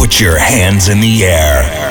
Put your hands in the air.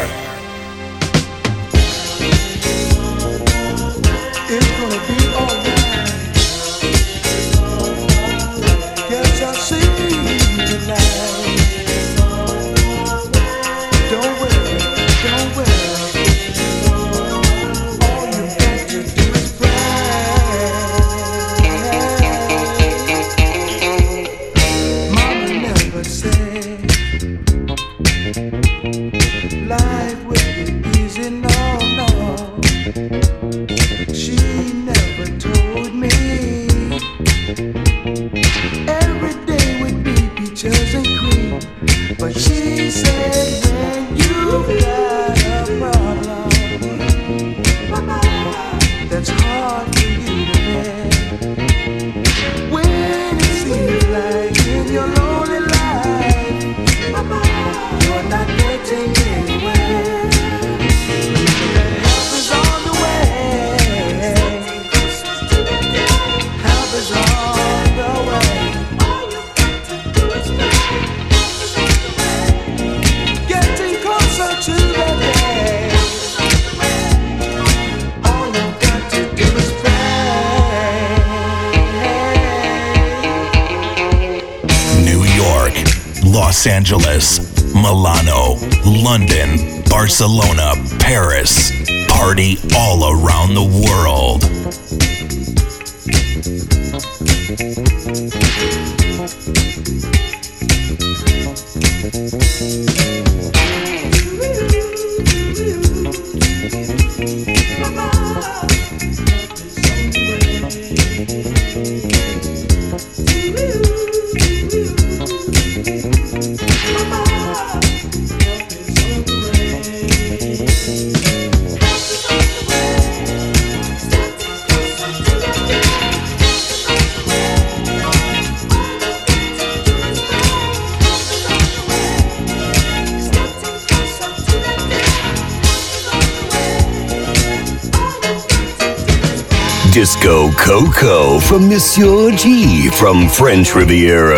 Los Angeles, Milano, London, Barcelona, Paris. Party all around the world. Disco Coco from Monsieur G from French Riviera.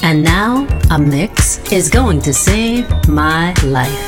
And now, a mix is going to save my life.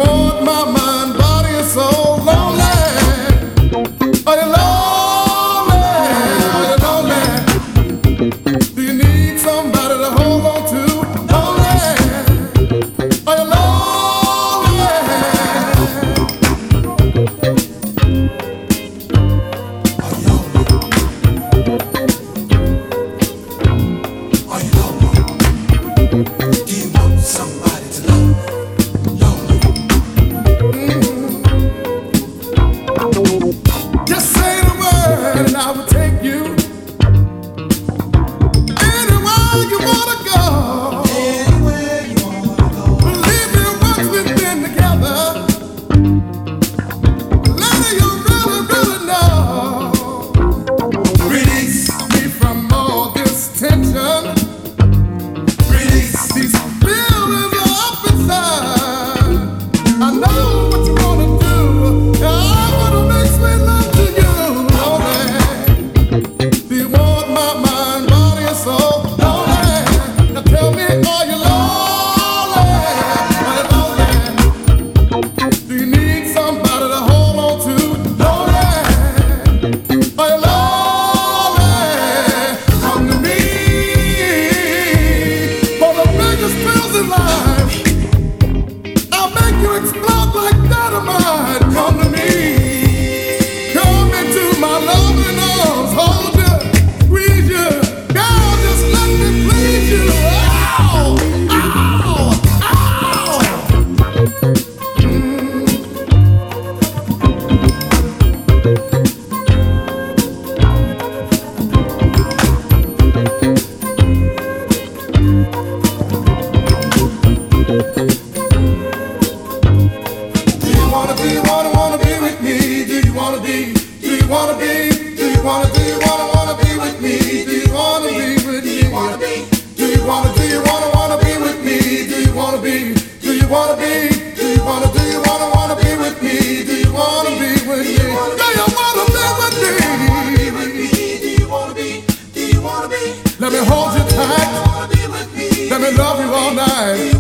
My mind, body, and soul lonely. Are you lonely? Let me hold you tight. Let me love you all night.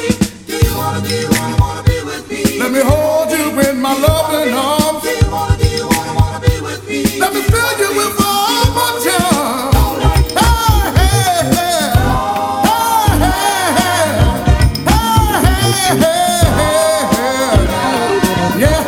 Let me hold you in my loving arms. Let me fill you with all my charms. Hey, hey, hey. Hey, hey, hey. Yeah.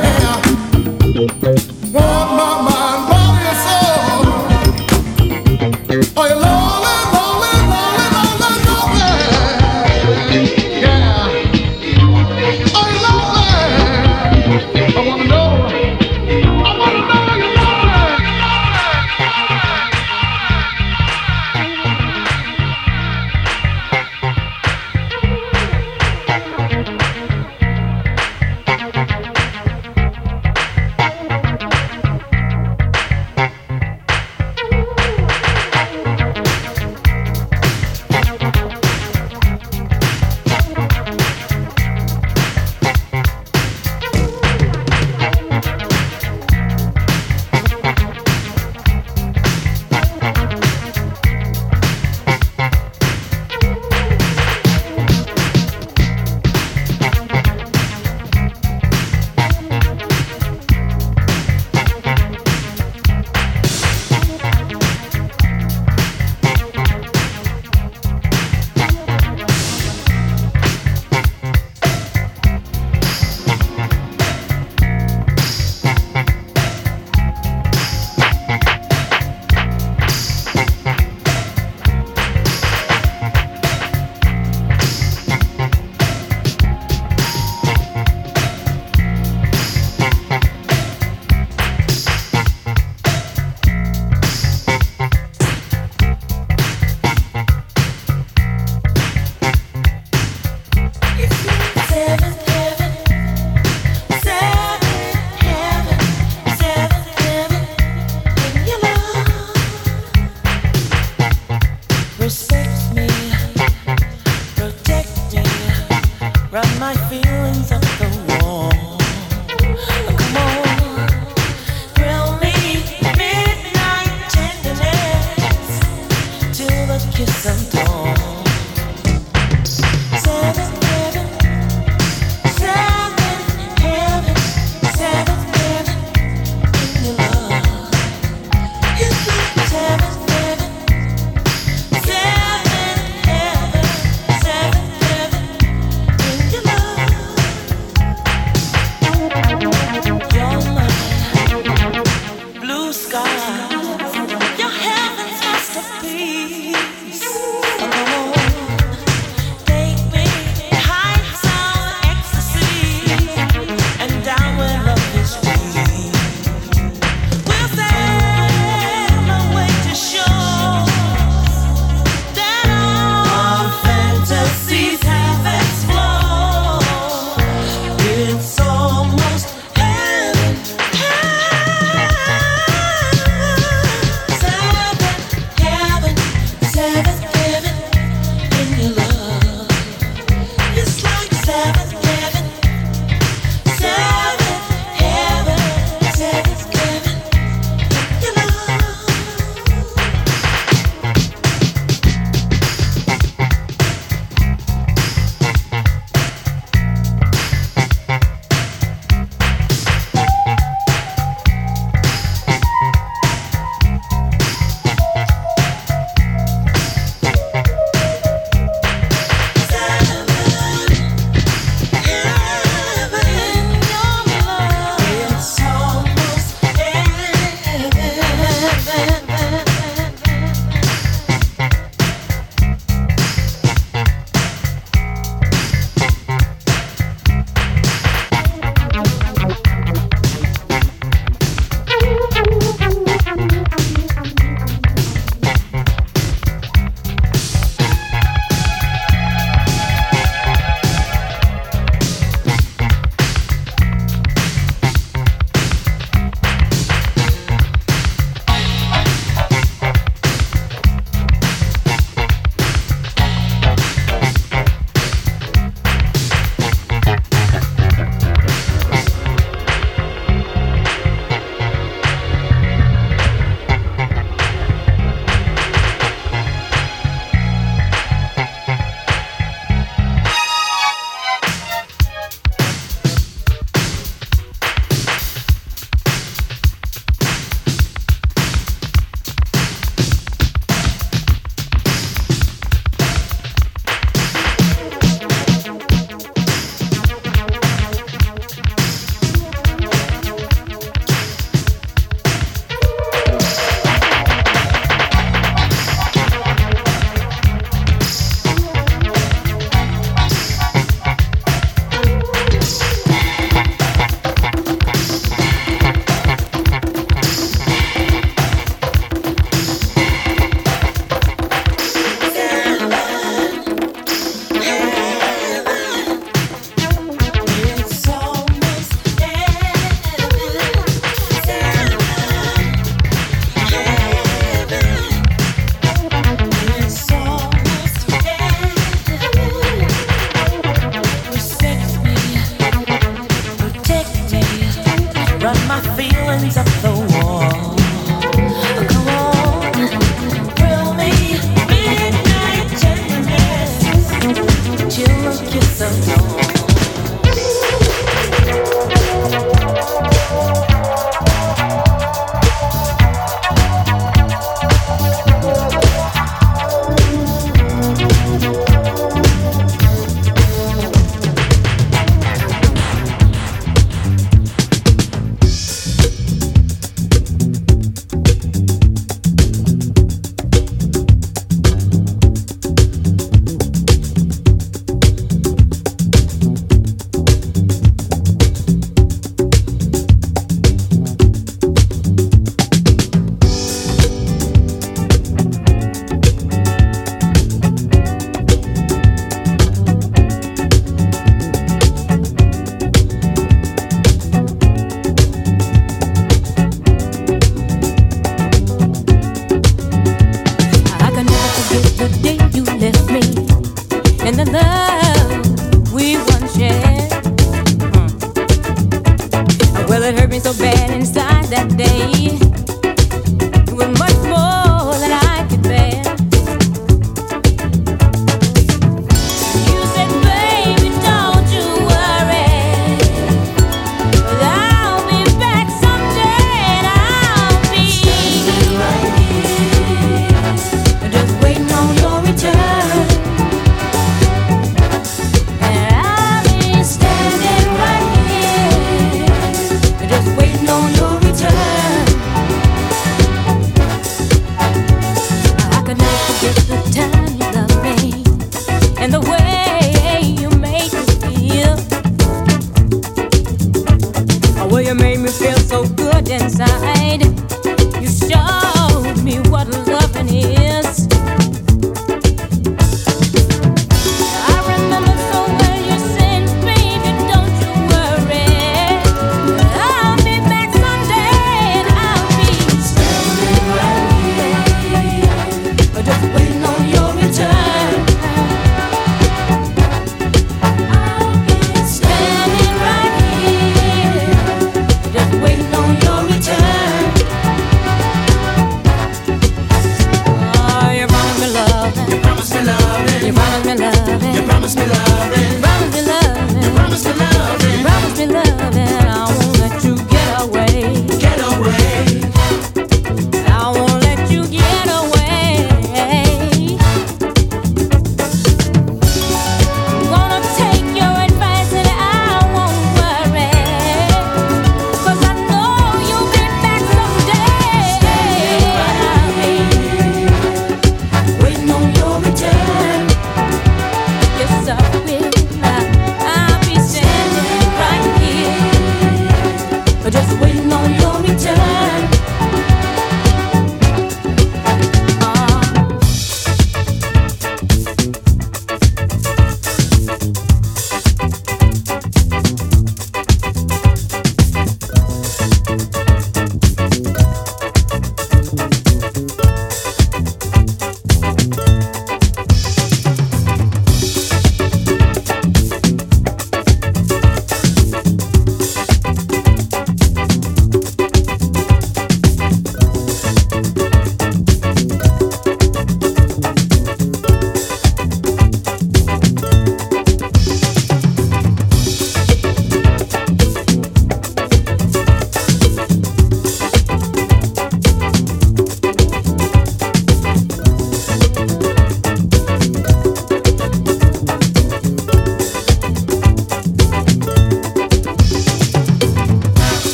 Want my mind, body, and soul. Are you lonely, lonely, lonely, lonely, lonely? Yeah. Are you lonely? I wanna know. I wanna know you're lonely.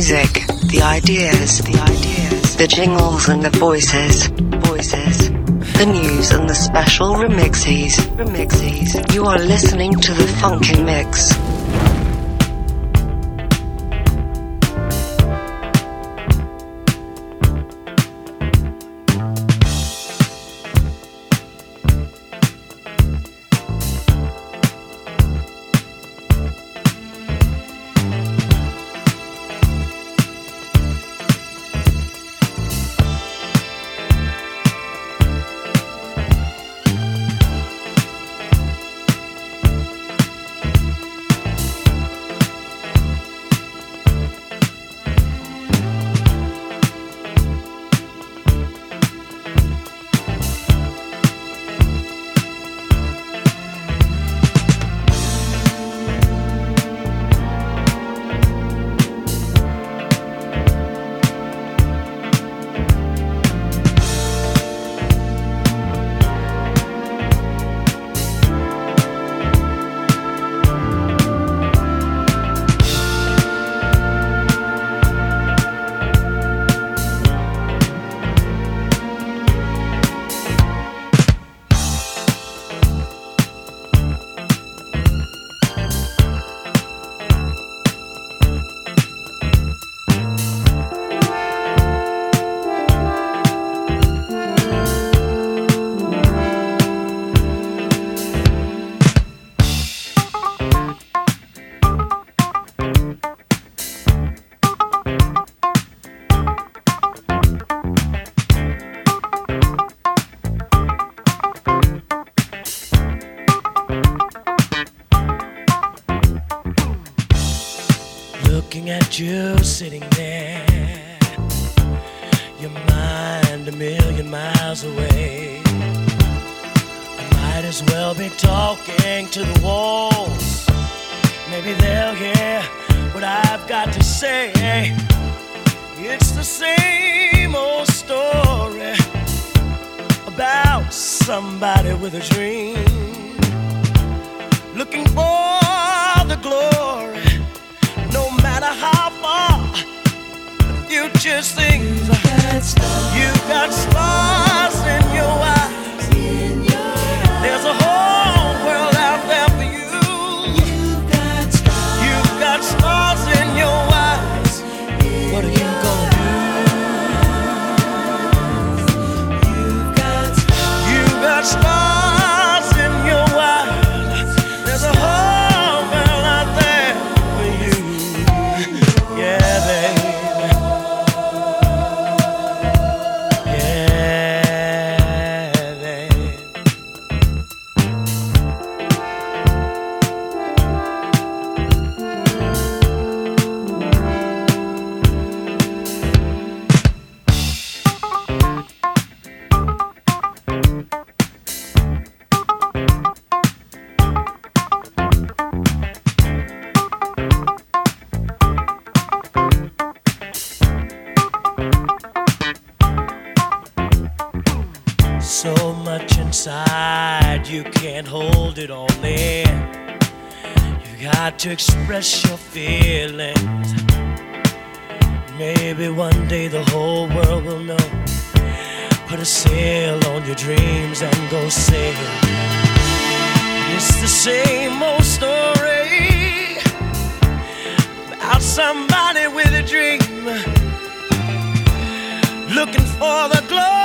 music, the ideas, the jingles and the voices, the news and the special remixes. You are listening to the Funky Mix. You sitting there, your mind a million miles away. I might as well be talking to the walls. Maybe they'll hear what I've got to say. It's the same old story about somebody with a dream, looking for the glory. No matter how far the future seems, you've got stars in your eyes. There's a whole world out there for you. You've got stars in your eyes. What are you gonna do? You've got stars in your eyes. There's a whole world out there for you. Yeah, baby. Yeah, baby. So much inside, you can't hold it all in. You got to express your feelings. Maybe one day the whole world will know. Put a sail on your dreams and go sail. It's the same old story about somebody with a dream, looking for the glory.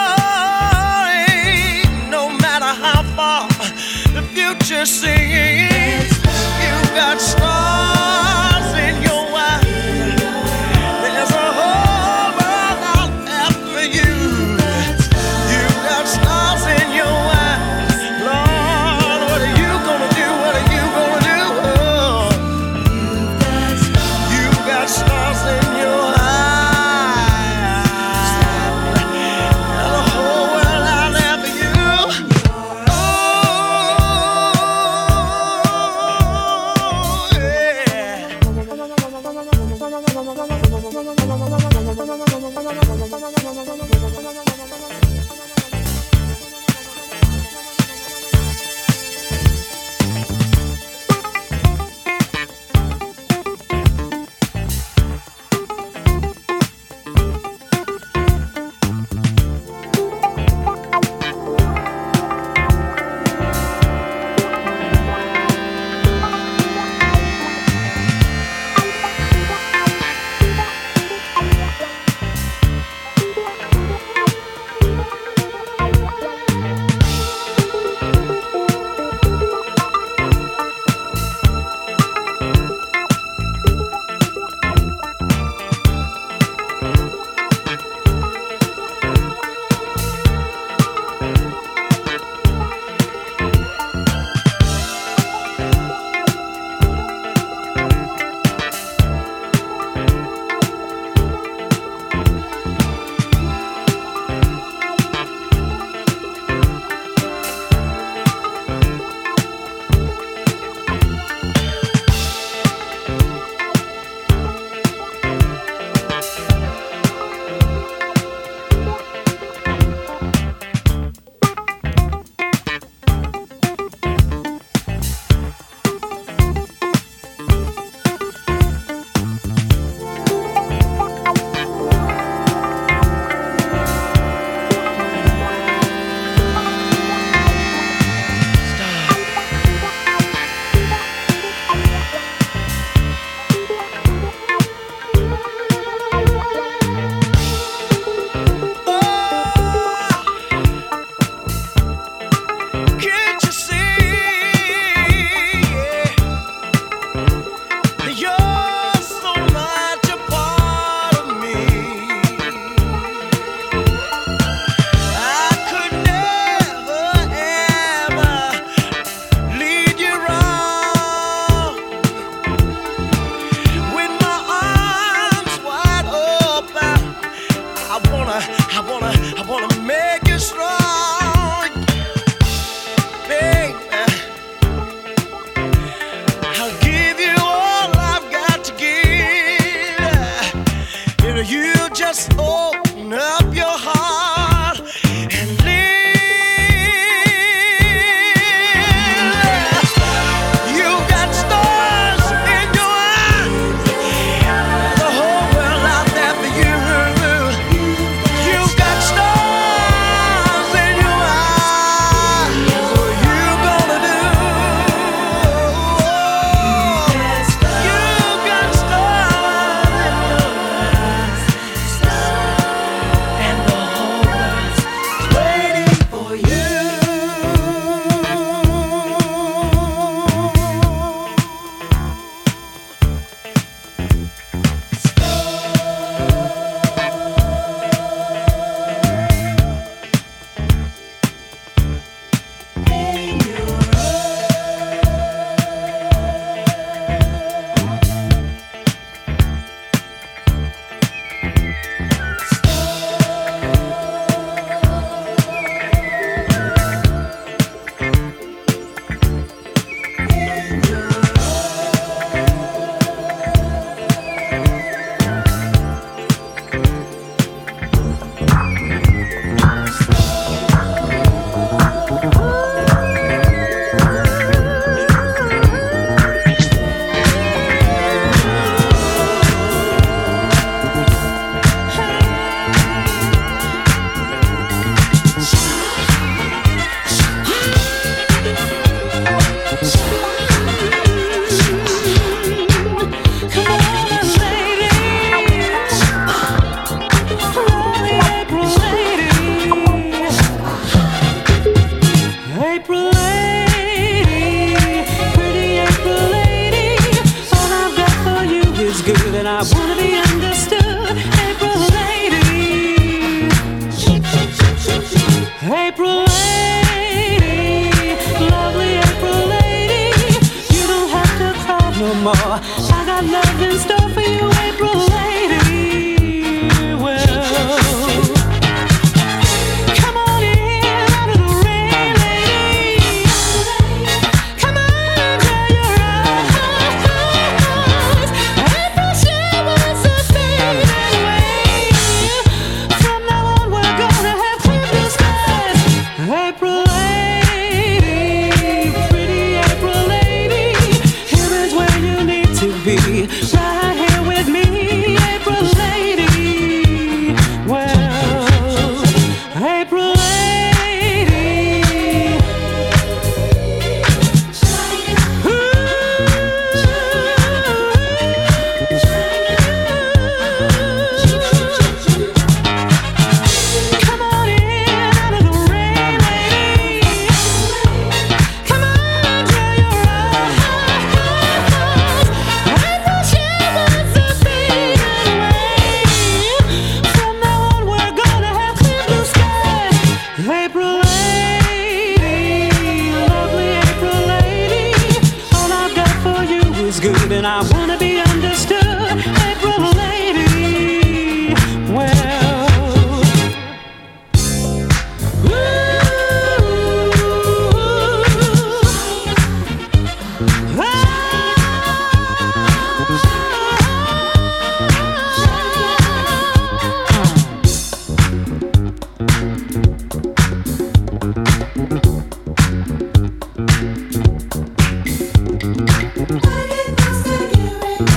No matter how far the future seems, you've got stars in your eyes. There's a whole world out there for you. You've got stars in your eyes. Lord, what are you gonna do? What are you gonna do? Oh, you've got stars in your eyes. There's a whole world out there for you. Oh, lady, pretty April lady. All I've got for you is good, and I wanna be understood. April lady, April lady, lovely April lady. You don't have to cry no more. I got love in store for you, April lady. Well, come on in out of the rain, lady. Come on, dry your eyes. April showers are fading away. From now on, we're gonna have clear blue skies. April lady, pretty April lady. Here is where you need to be, right here with me, April lady. Well, April lady. Ooh. Come on in out of the rain, lady. Come on, dry your eyes. April showers are fading away. From now on, we're gonna have clear blue skies. April lady, lovely April lady. All I've got for you is good, and I wanna be understood. April lady, well. I get close to you.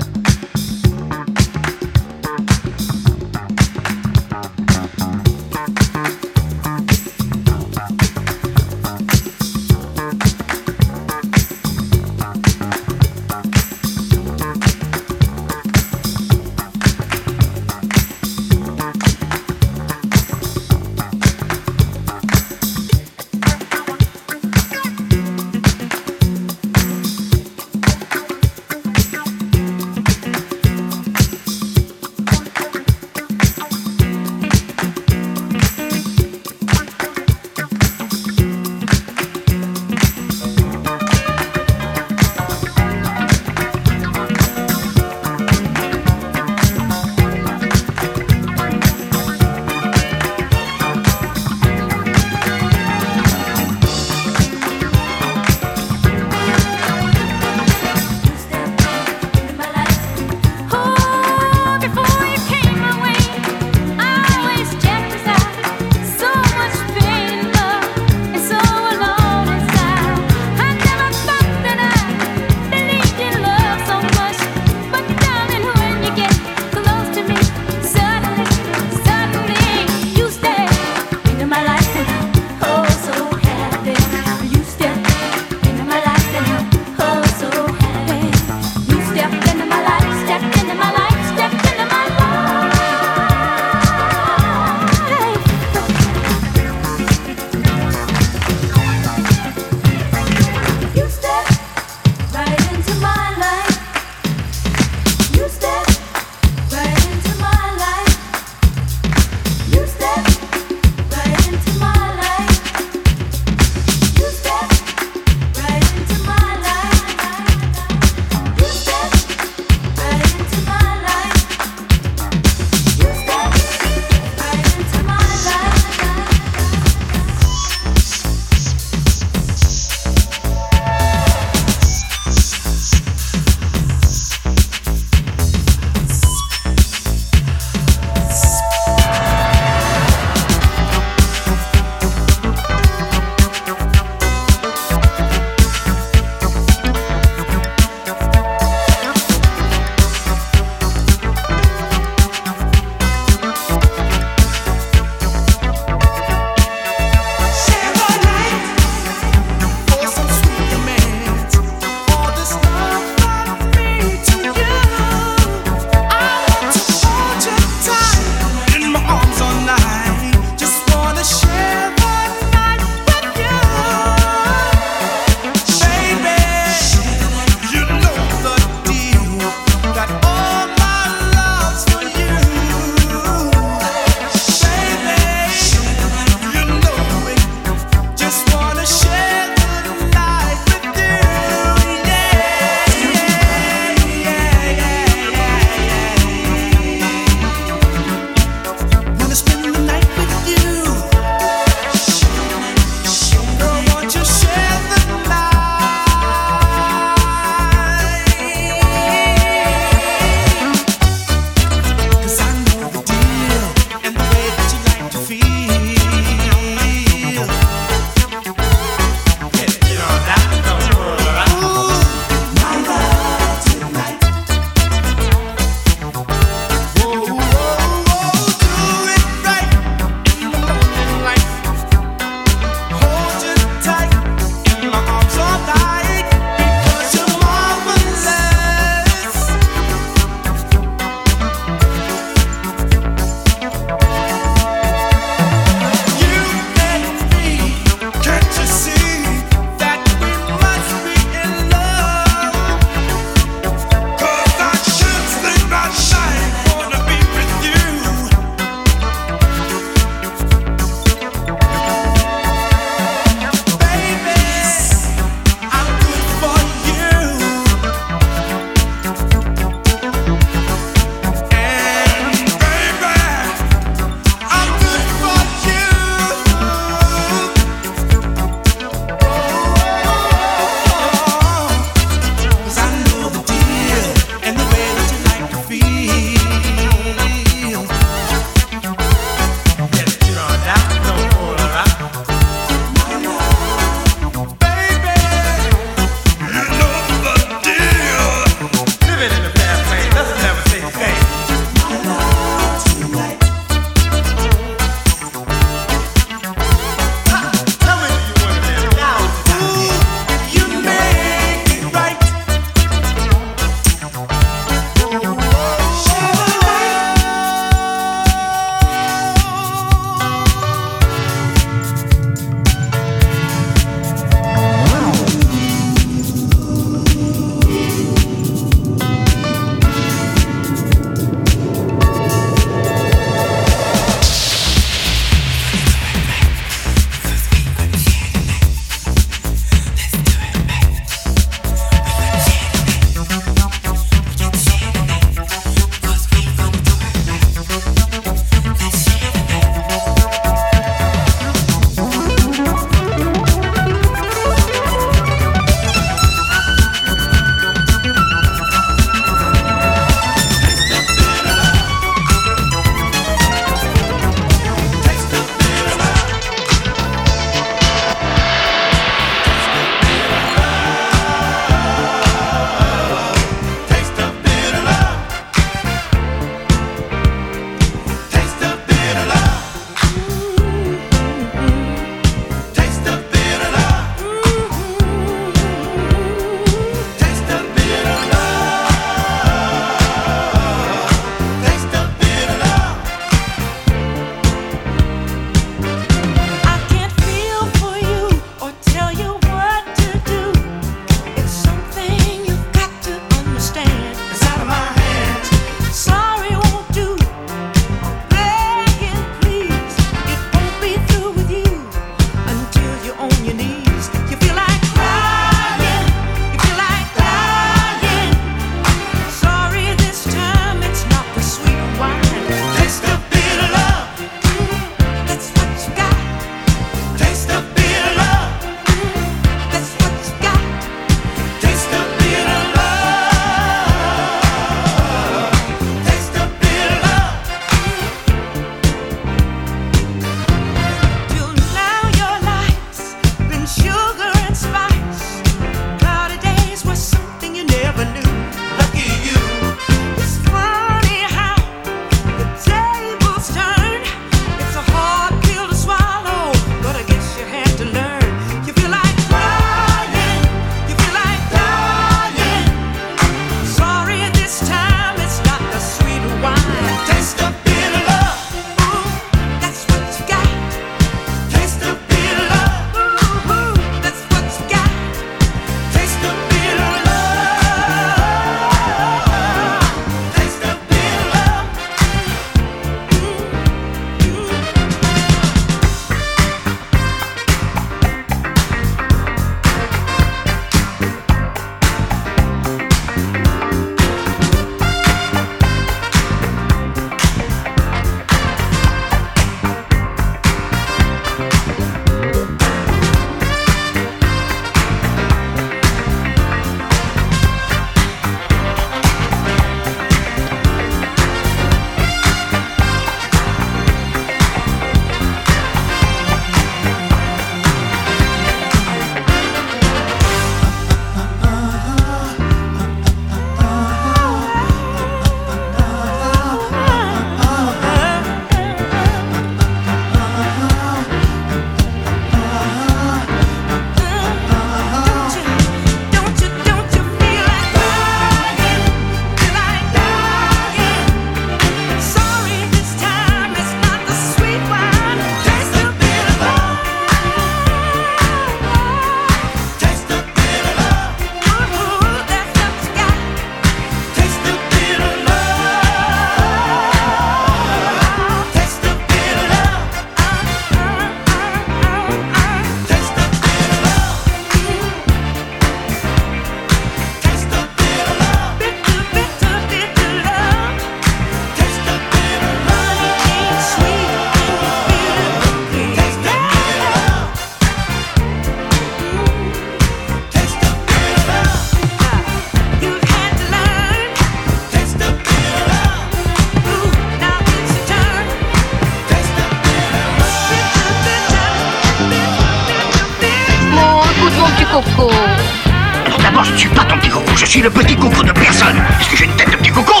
suis le petit coucou de personne. Est-ce que j'ai une tête de petit coucou?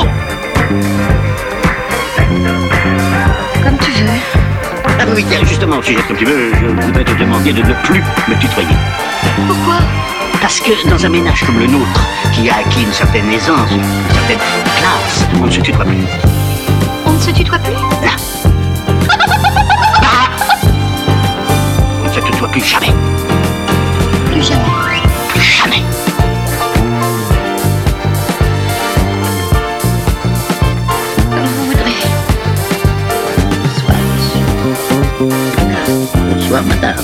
Comme tu veux. Ah oui, tiens, justement, au sujet comme tu veux, je voudrais te demander de ne plus me tutoyer. Pourquoi? Parce que dans un ménage comme le nôtre, qui a acquis une certaine aisance, une certaine classe, on ne se tutoie plus. On ne se tutoie plus? Là. On ne se tutoie plus jamais. Plus jamais. Plus jamais. Comme vous voudrez. Bonsoir, madame.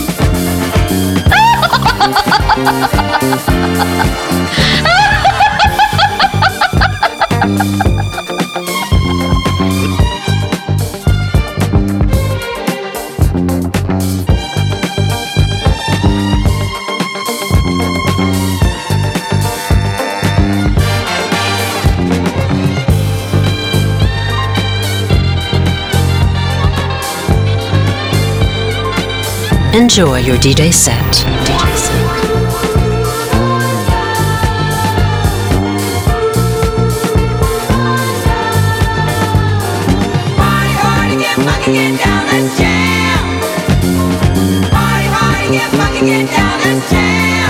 Enjoy your DJ set. DJ set. Get down, let's jam. Party hard, get funky, get down, let's jam.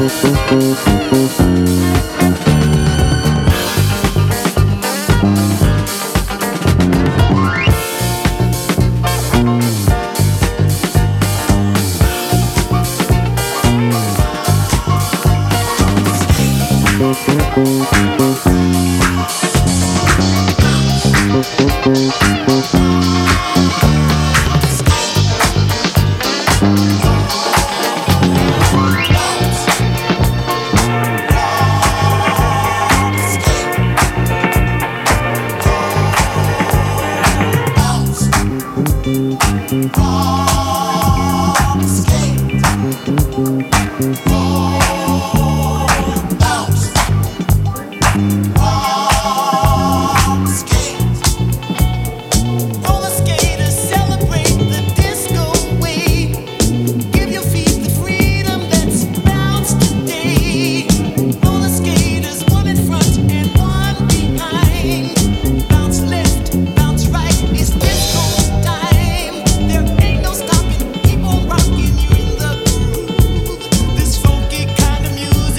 This funky kind of music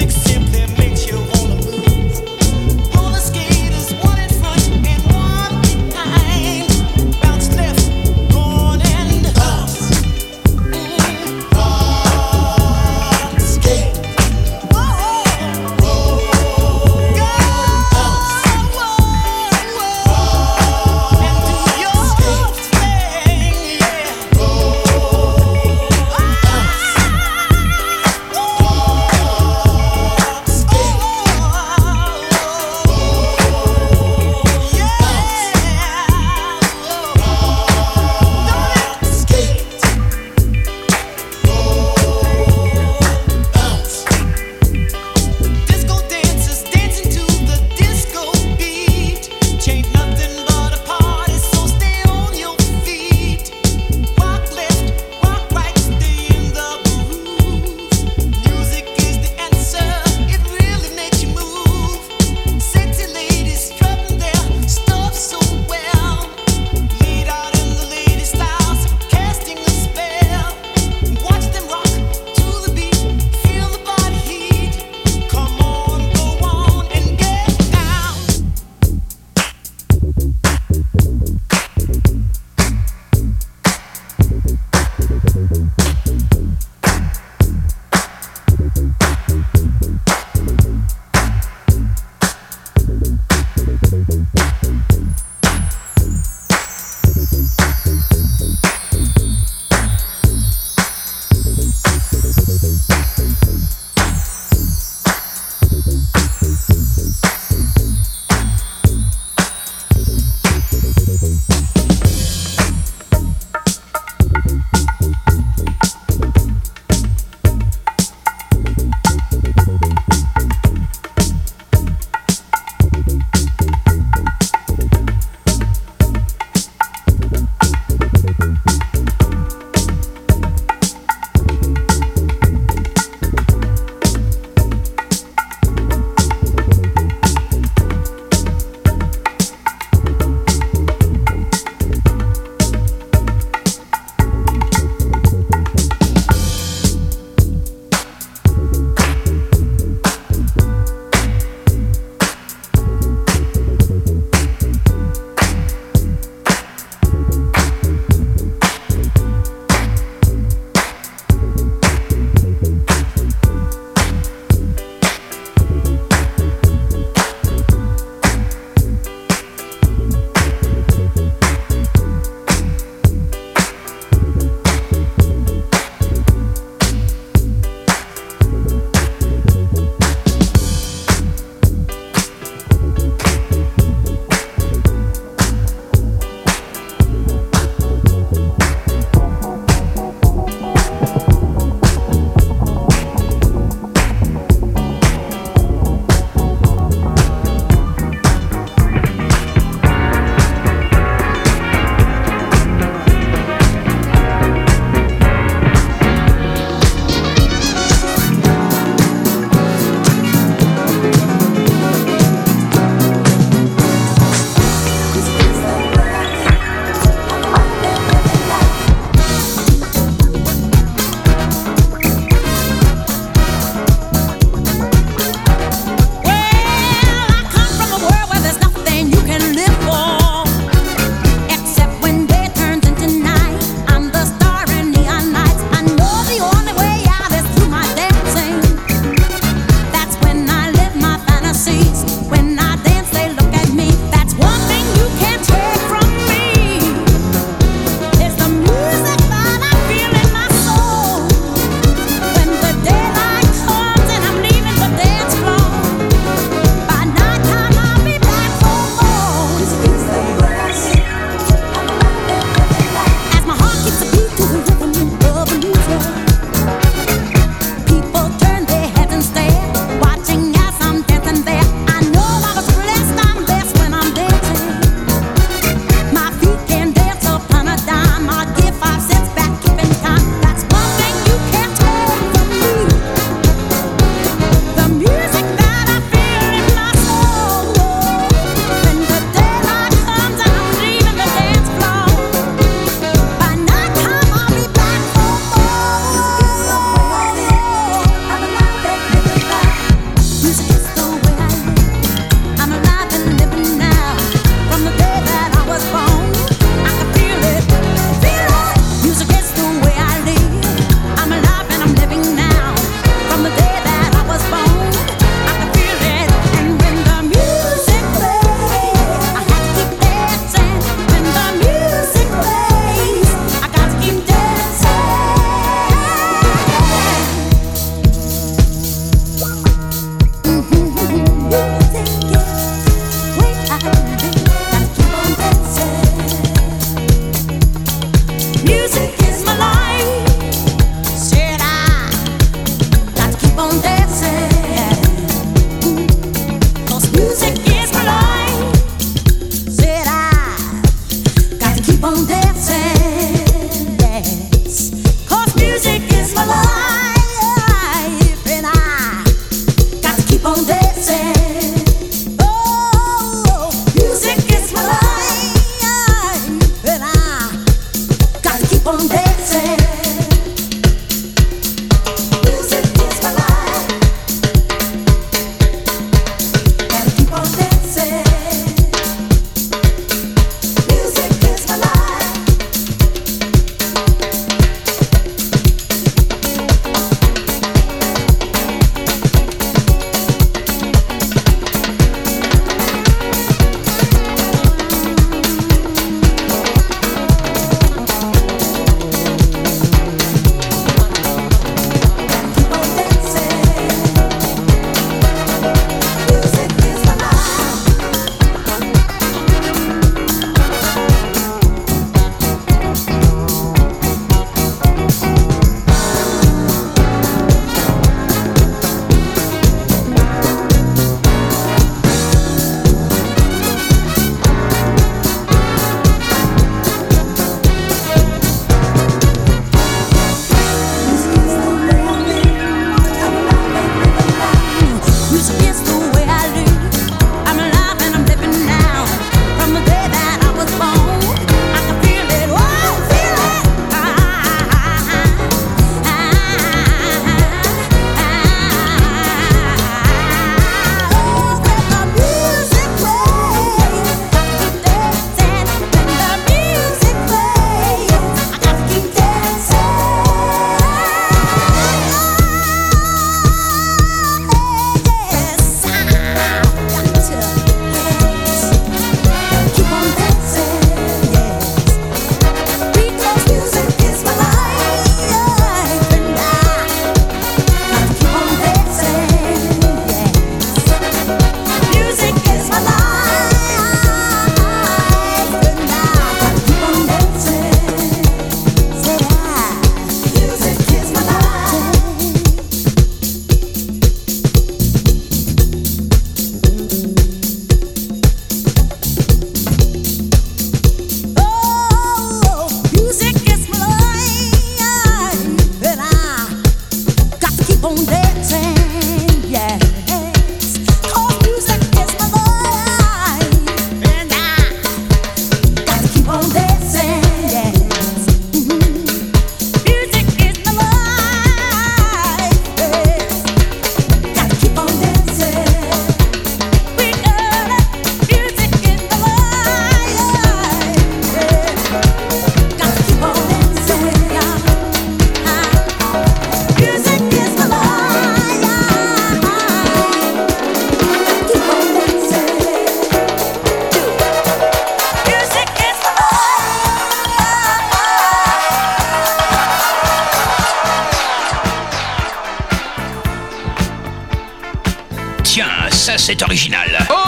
Tiens, ça c'est original.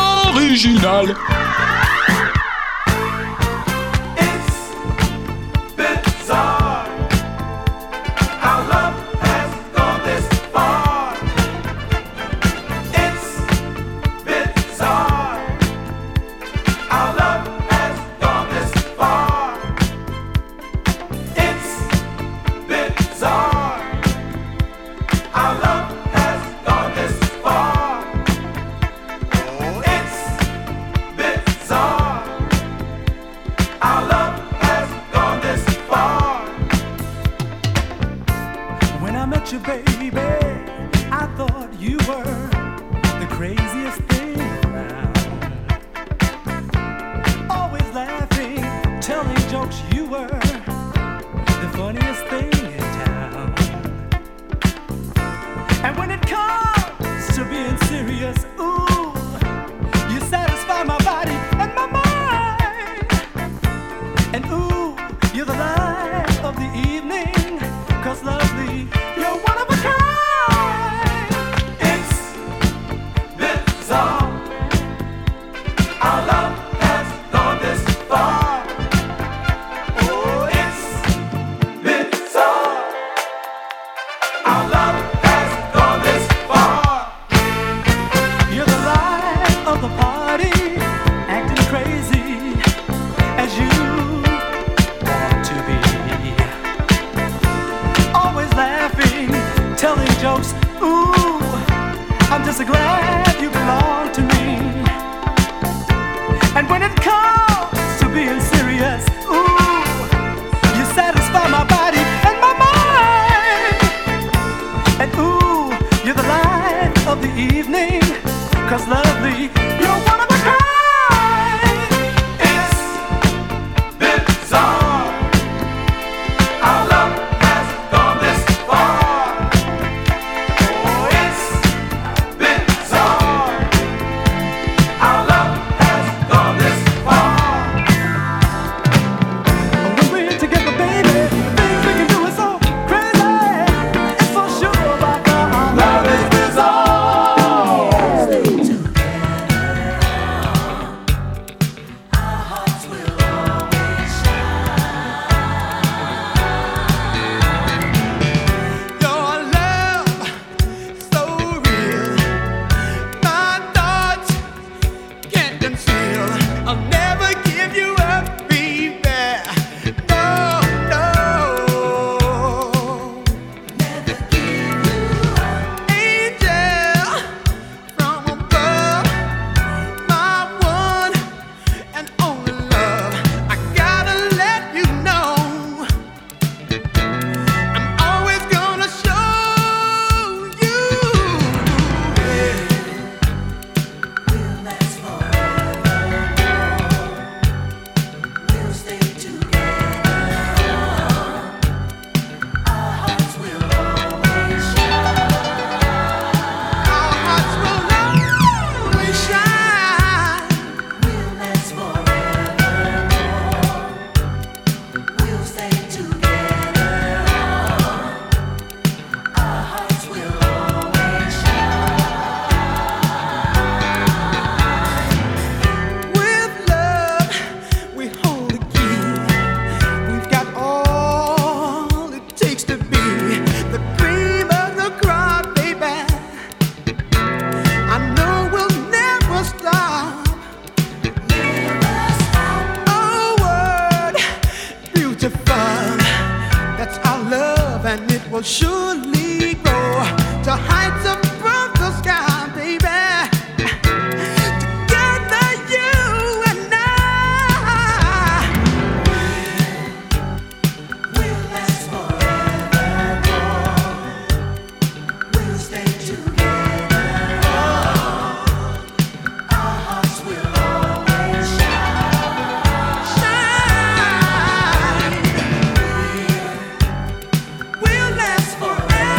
Original. Forever.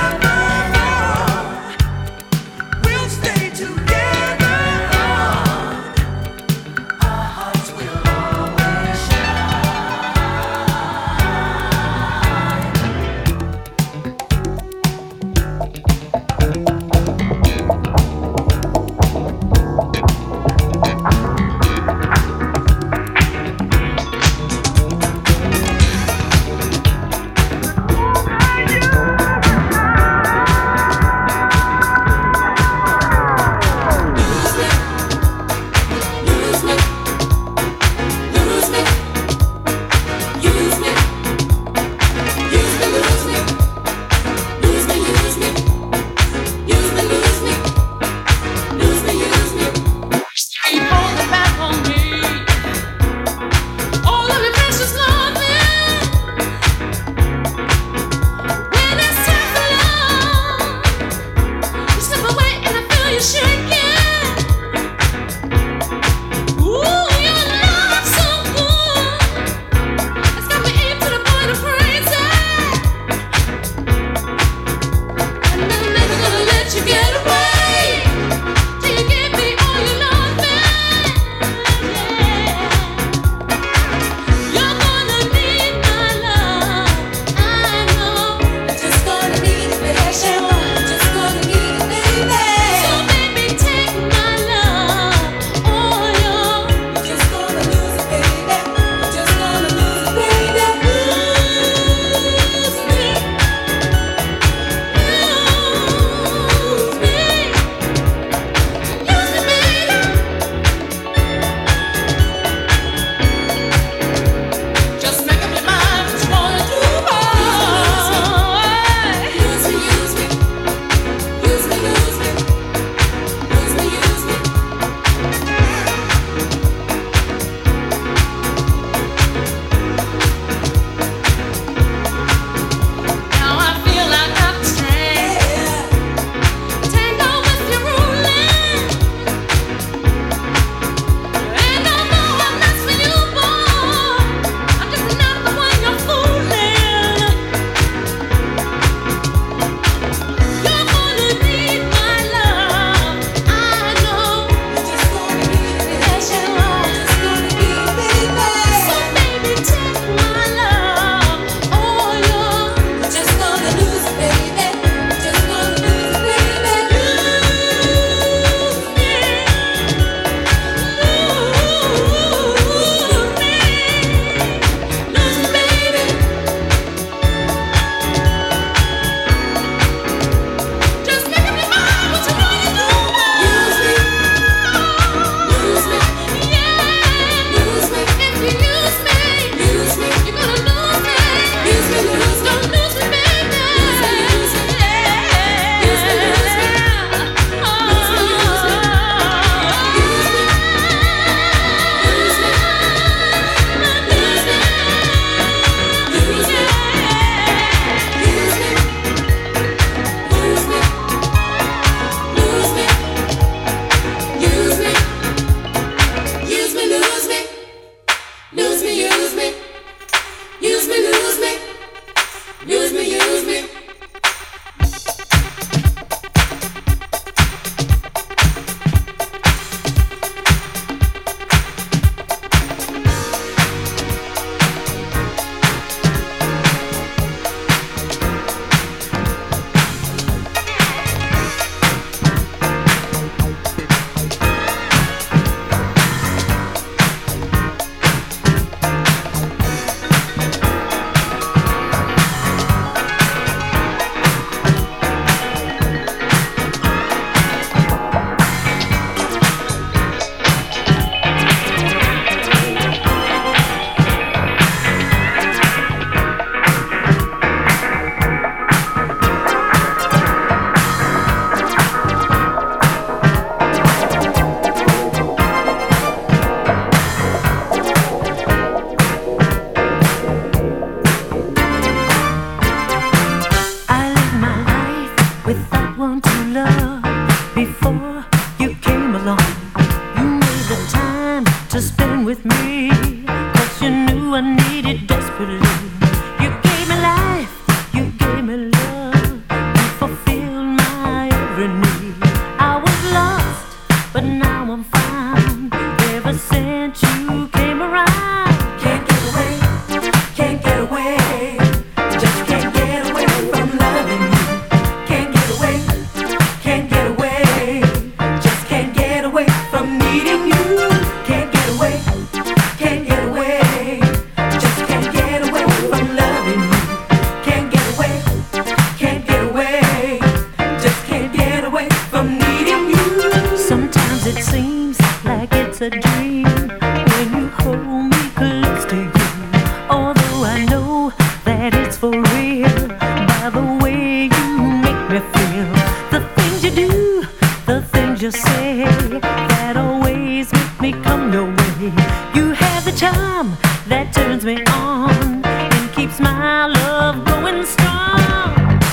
Before you came along, you made the time to spend with me, 'cause you knew I needed desperately. You gave me life, you gave me love, you fulfilled my every need. I was lost, but now I'm found. Ever since you came around, can't get away, can't get away. Just can't get away from loving you. Can't get away, can't get away. Just can't get away from needing you. Can't get away, can't get away. Just can't get away from loving you. Can't get away, can't get away. Just can't get away from needing you. Sometimes it seems like it's a dream when you hold me close to you. Although I know that it's for real, by the way you make me feel. The things you do, the things you say, that always make me come your way. You have the charm that turns me on and keeps my love going strong.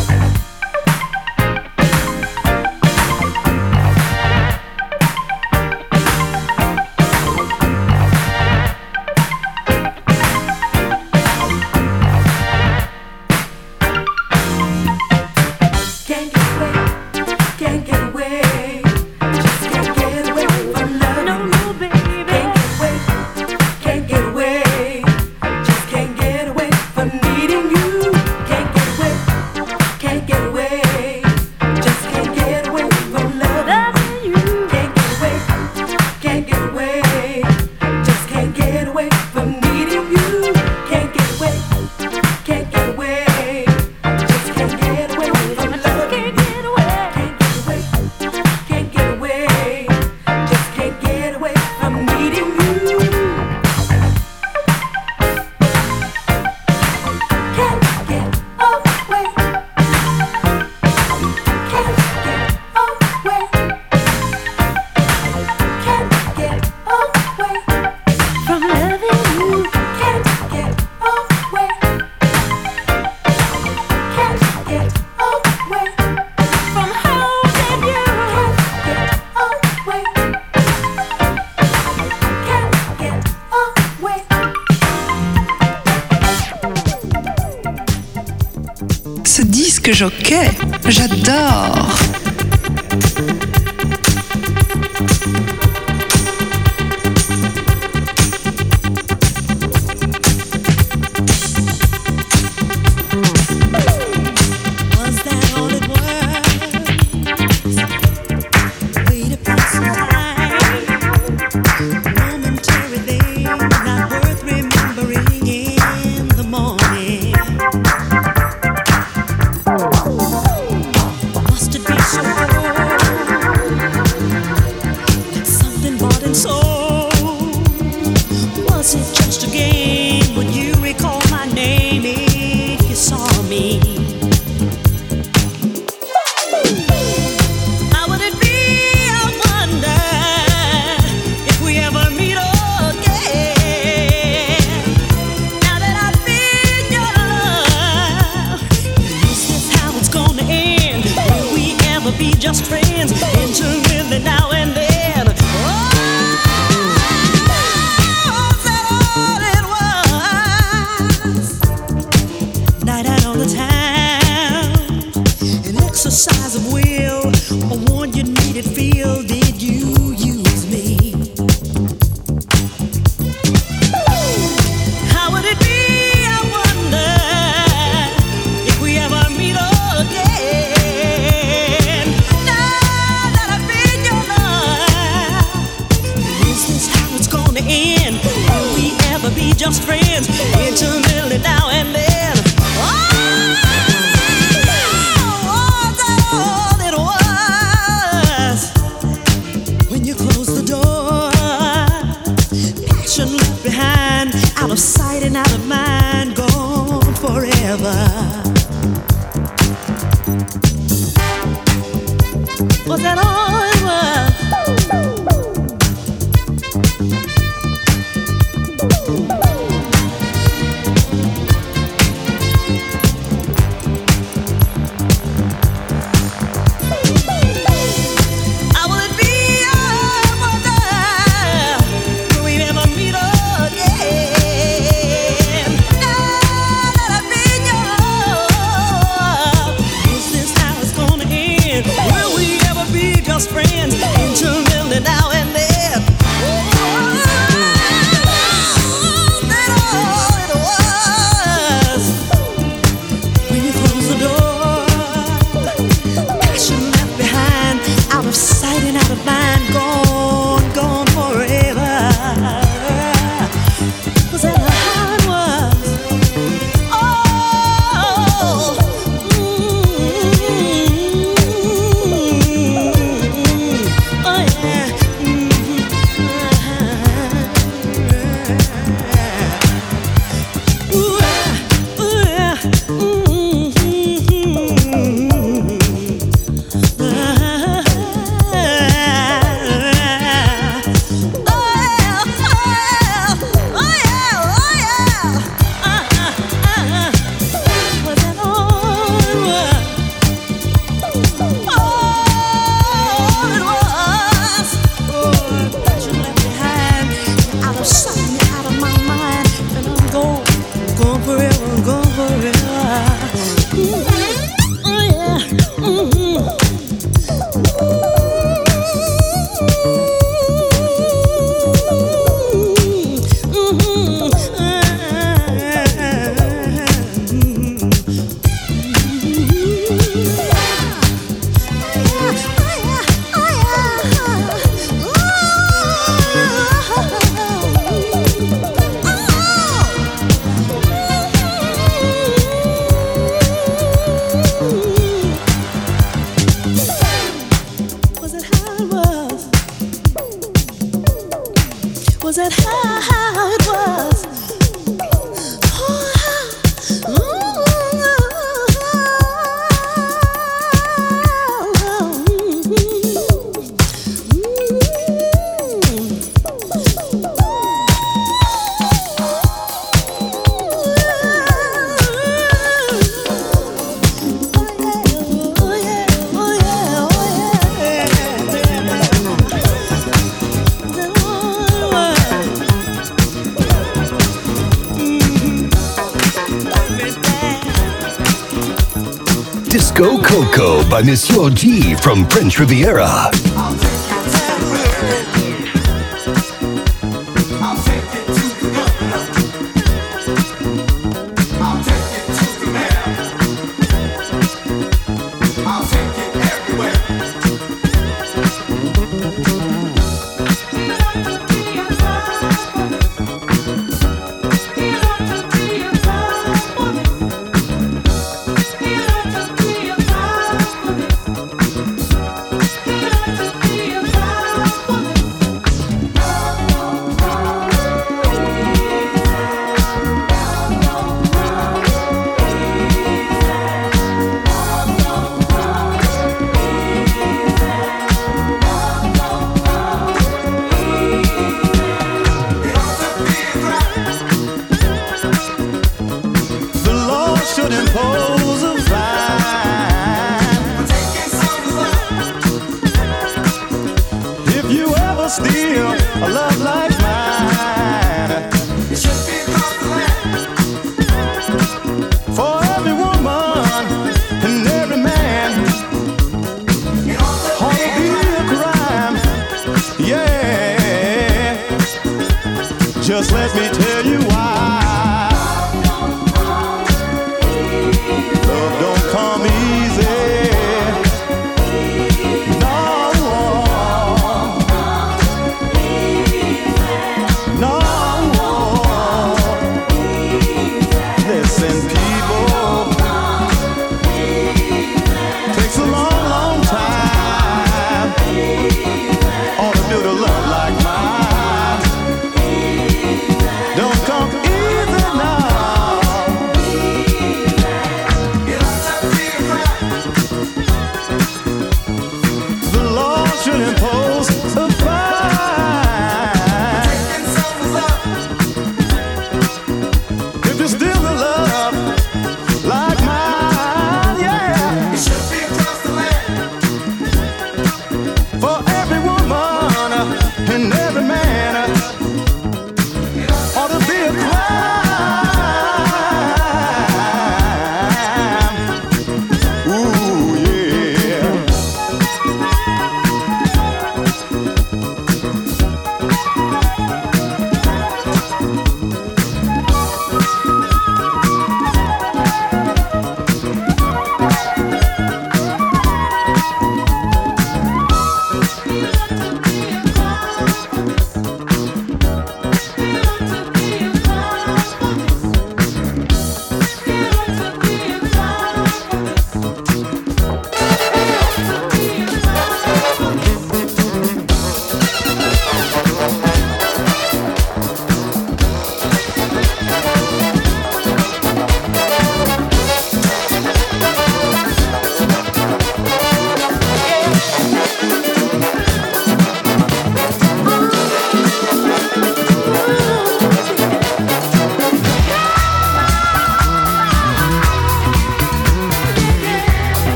Can't get away, can't get away. Just can't get away from loving you. No, baby. Can't get away, just can't get away from needing you. Can't get away, can't get away. Just can't get away from loving you. Can't get away, can't get away. Just can't get away from needing you. Can't get away, can't get away. Just can't get away from loving you. Can't get away, just can't get away from needing you. Can't get away, can't get away, can't get away from loving you. Can't get away, can't get away from holding you. Can't get away, can't get away. Ce disque jockey, j'adore. Was that all it was? Way to pass some time, momentary thing, not worth remembering in the morning. Must it be so that something bought and sold? Was it just a game? Would you recall my name if you saw me? How would it be, I wonder, if we ever meet again? Now that I've been your love, is this how it's gonna end? Will we ever be just friends, intermittently now and then? Oh, is that all it was? Night out on the town, an exercise of will, a one you needed feel. Did you use me? How would it be, I wonder, if we ever meet again? Now that I've been your love, is this how it's gonna end? Will we ever be just friends, intermittently now and then? Oh, was that all it was? When you close the door, passion left behind, out of sight and out of mind, gone forever. Was that all it was? friends intimately now and then. Sight and out of mind, gone, gone forever. Was that how it was? Oh, oh yeah. Ooh, yeah. Was that how it was? Disco Coco by Monsieur G from French Riviera. Just let me tell you why. Love don't come easy. No, no. Listen, people, takes a long, long time. Ought to build a love like mine. Don't come easy.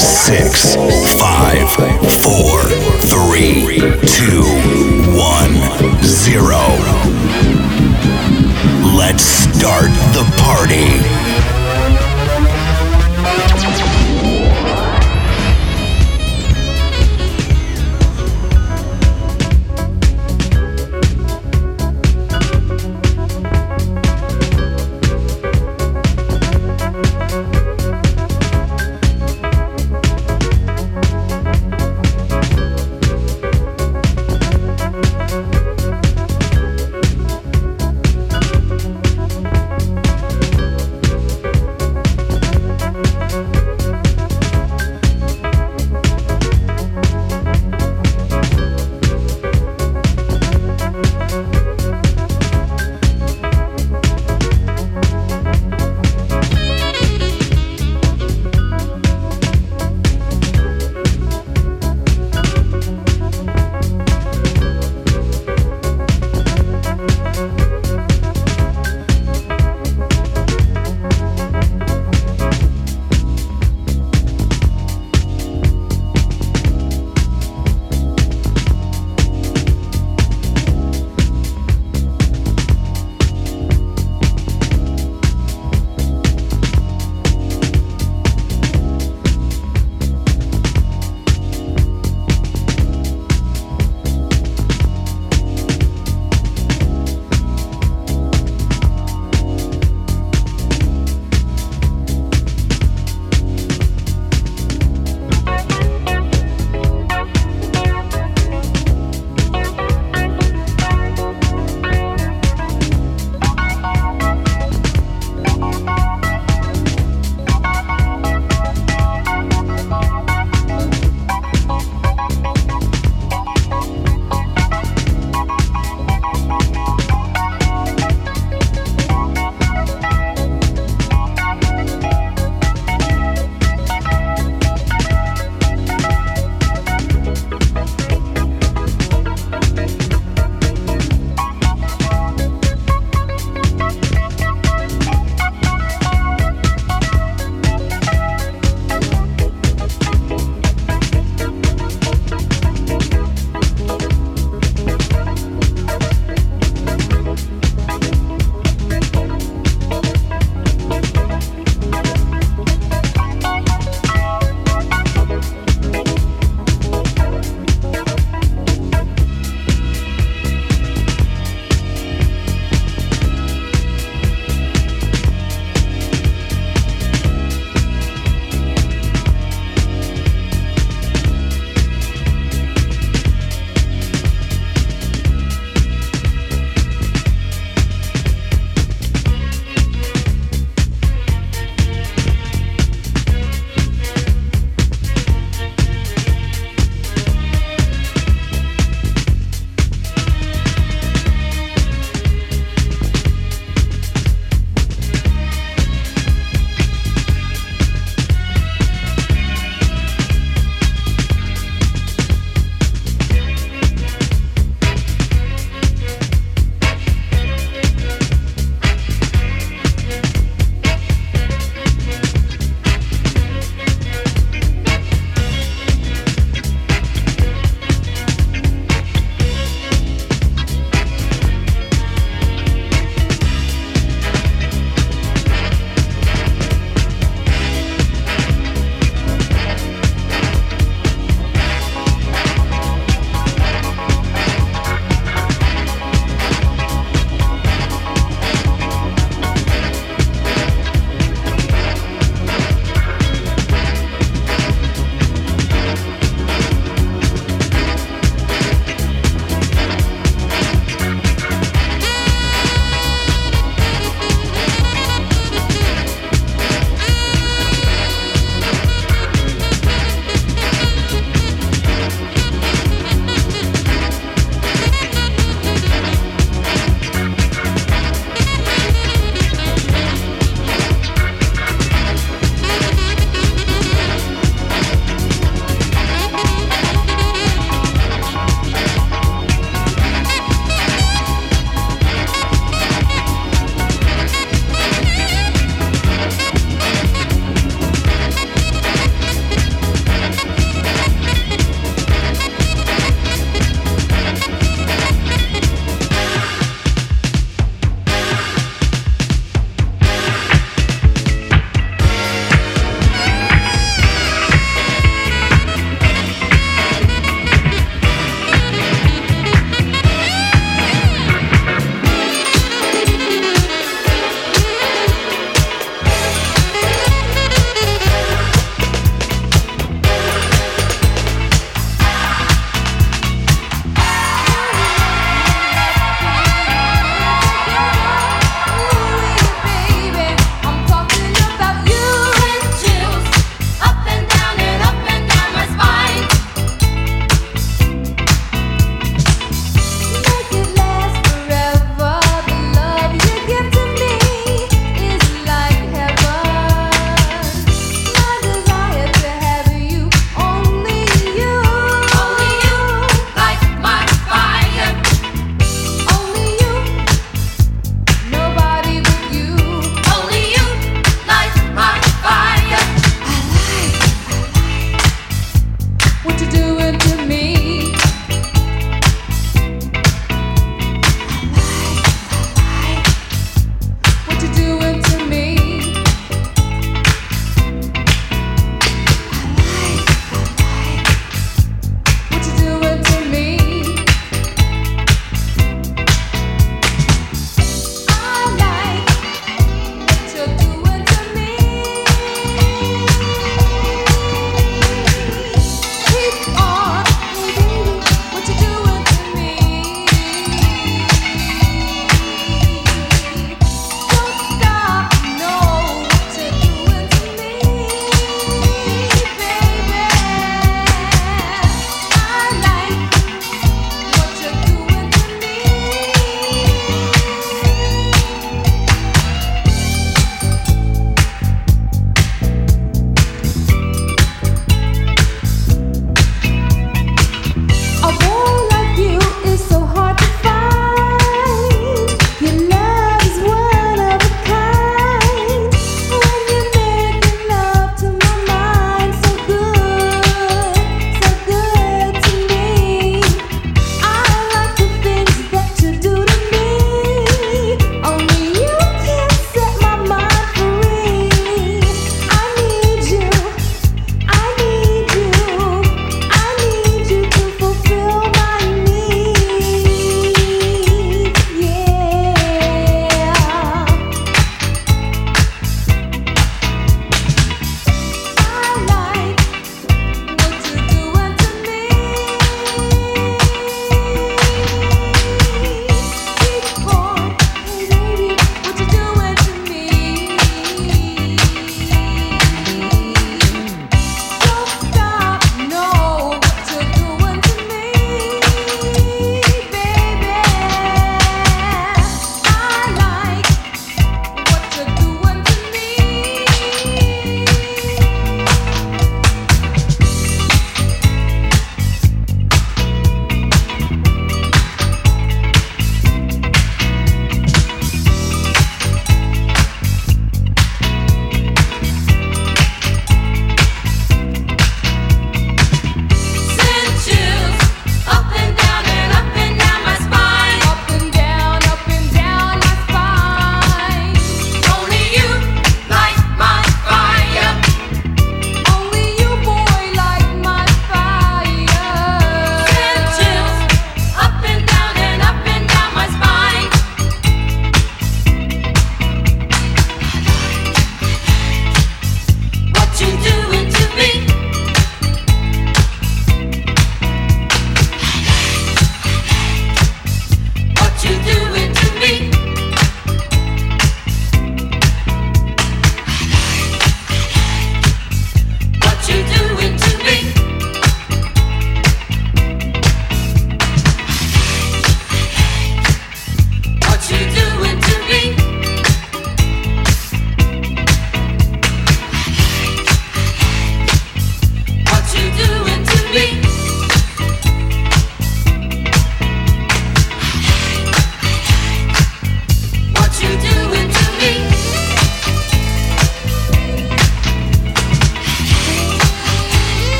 6, 5, 4, 3, 2, 1, 0. Let's start the party.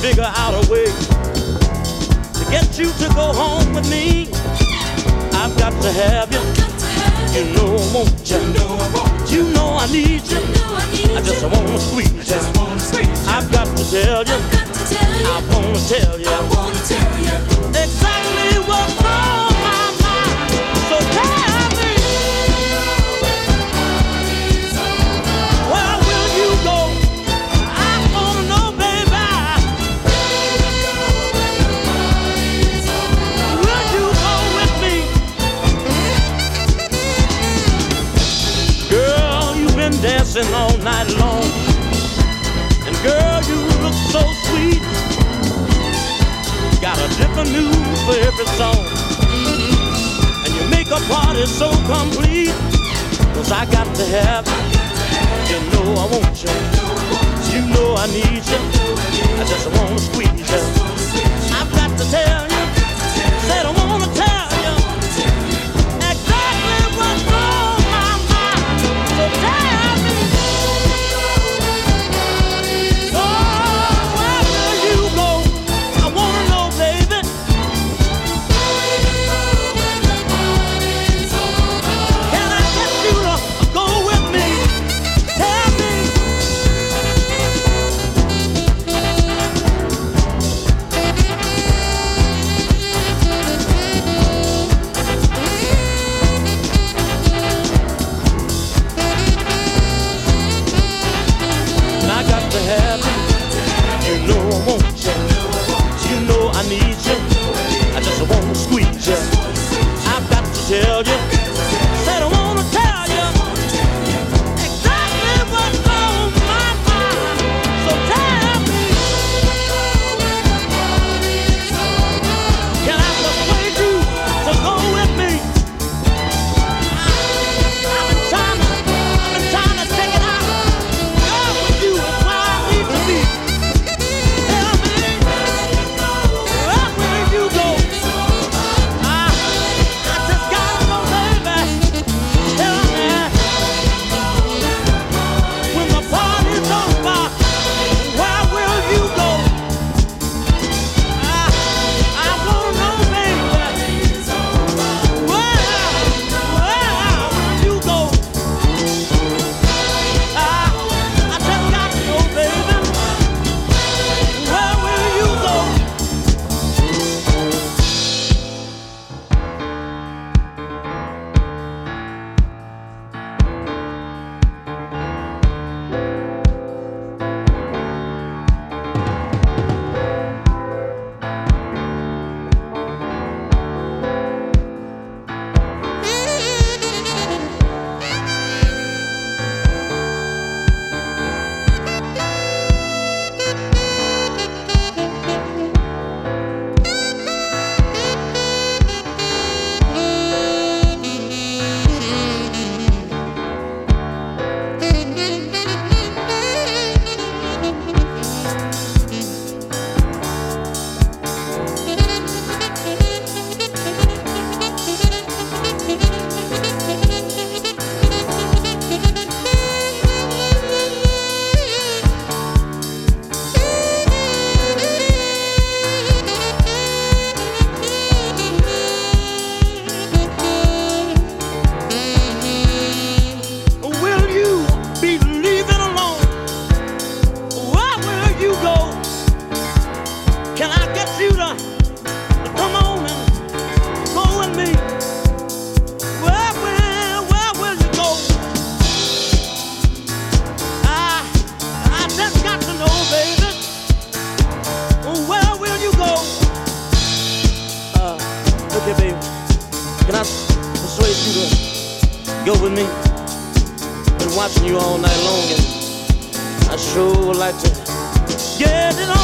figure out a way to get you to go home with me. I've got to have you. You know I want you. You know I need you. I just wanna squeeze you. I've got to tell you. I wanna tell you exactly what's on my mind. So tell me, where will you go? I wanna know, baby. Will you go with me? Girl, you've been dancing all night long. And girl, you look so sweet. Got a different move for every song. And you make a party so complete. 'Cause I got to have you. You know I want you. You know I need you. I just wanna squeeze you. I've got to tell you. Said I wanna tell you exactly what's on my mind. So tell me. Tell you, said I wanna tell you exactly what's on my mind. So tell me, can I persuade you to go with me? I've been trying to take it out. Girl, with you is where I need to be. Tell me, where will you go? Go with me. Been watching you all night long, and I sure would like to get it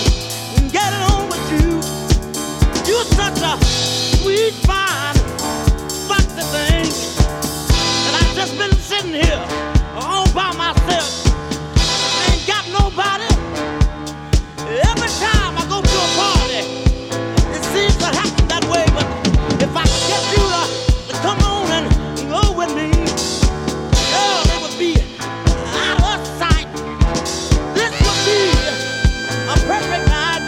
on with you. You're such a sweet, fine, foxy thing, and I've just been sitting here all by myself. I ain't got nobody. Every time I go to a party, it seems to happen that way. But if I could get you to come on and go with me, girl, it would be out of sight. This would be a perfect night.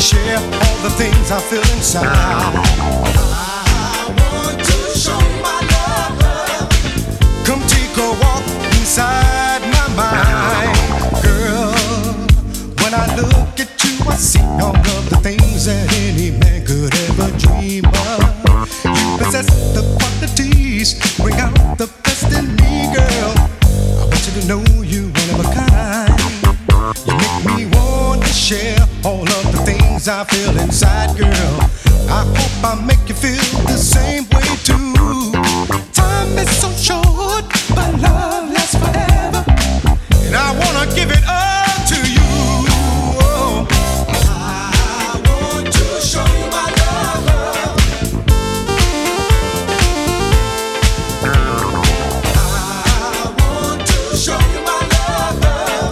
share all the things I feel inside. I want to show my love. Come take a walk inside my mind, girl. When I look at you, I see all of the things that any man could ever dream of. You possess the qualities, bring out the best in me, girl. I want you to know you one of a kind. You make me want to share all of the things I feel inside, girl. I hope I make you feel the same way too. Time is so short, but love lasts forever, and I wanna give it all to you. Oh, I want to show you my love. I want to show you my love.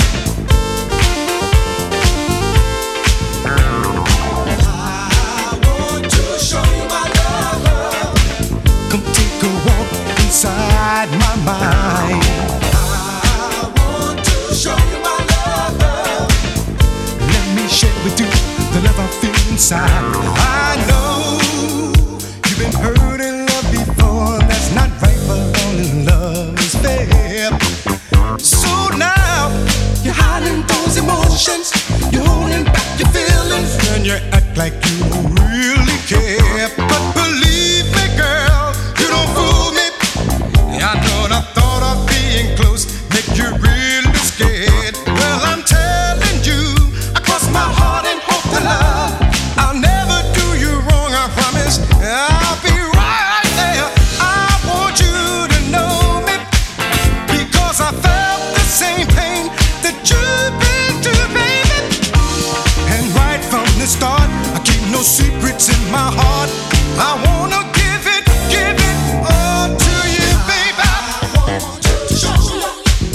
I want to show you my love. Come take a walk inside my mind. I want to show you my love. Let me share with you the love I feel inside. I know you've been hurt in love before. That's not right, but all in love is fair. So now you're hiding those emotions, you're holding back your feelings, and you act like you don't really care. But believe me, girl, you don't fool me. I know the thought of being close make you really scared. Well, I'm telling you, across my heart and hope to love, I'll never do you wrong, I promise. I'll be right there. I want you to know me, because I felt the same pain that you've been through, baby. And right from the start, I keep no secrets in my heart. I wanna give it all to you, baby. I want to show you.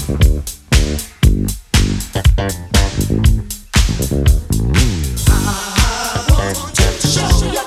I want to show you.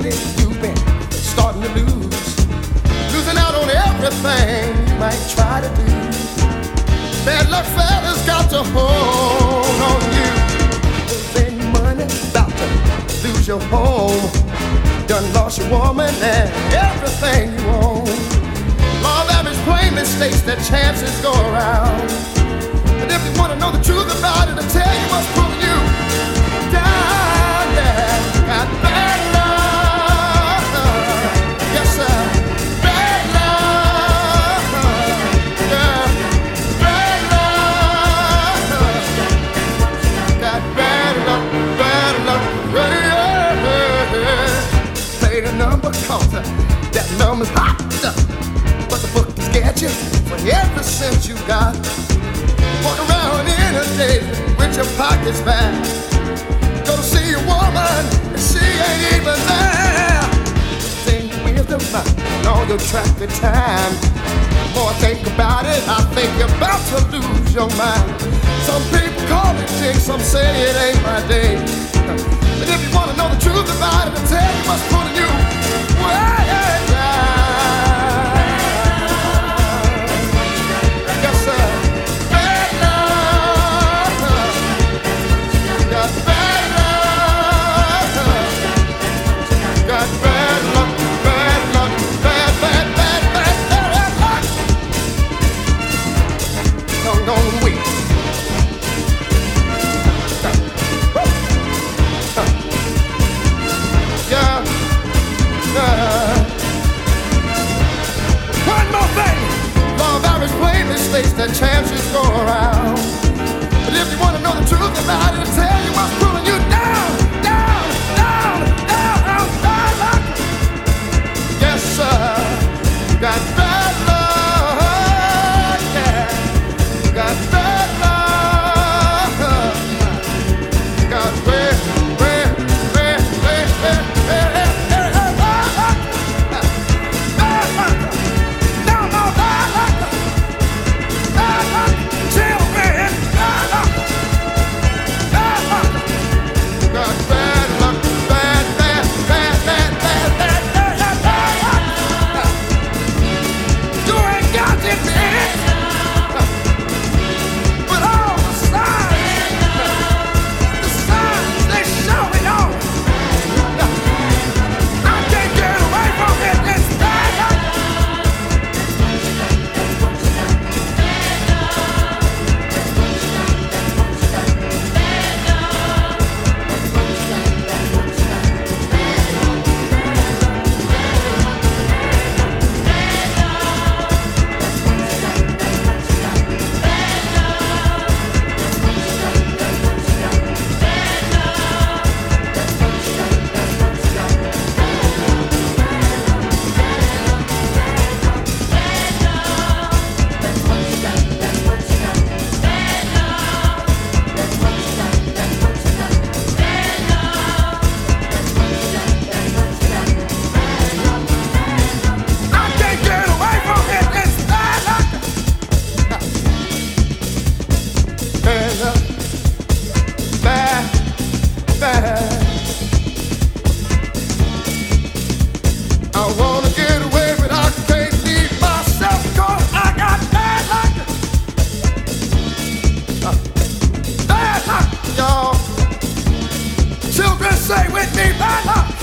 lately you've been starting to losing out on everything you might try to do. Bad luck fella's got to hold on you. Spend money, about to lose your home. Done lost your woman and everything you own. Law of average plainly states that chances go around. But if you want to know the truth about it, I'll tell you what's pulling you down. Yeah, got bad luck. Yes, sir. Bad luck. Yeah, bad luck. Got bad luck, bad luck. Yeah. Play the number, cause that number's hot. But the book is get you for every cent you got. Walk around in a day with your pockets back. Go to see a woman and she ain't even there. Think with the mind and all your traffic time. More think about it, I think you're about to lose your mind. Some people call it jinx, some say it ain't my day. But if you want to know the truth about it, I'll tell you what's pulling you way down. That chances go around. But if you want to know the truth about it, I'll tell you what's pulling you down, down, down, down, down, down. Yes, sir. You got bad luck, yeah. You got bad luck. You got way, way, way, way, way, way, bad luck. No, no, bad luck. Say with me, bad luck.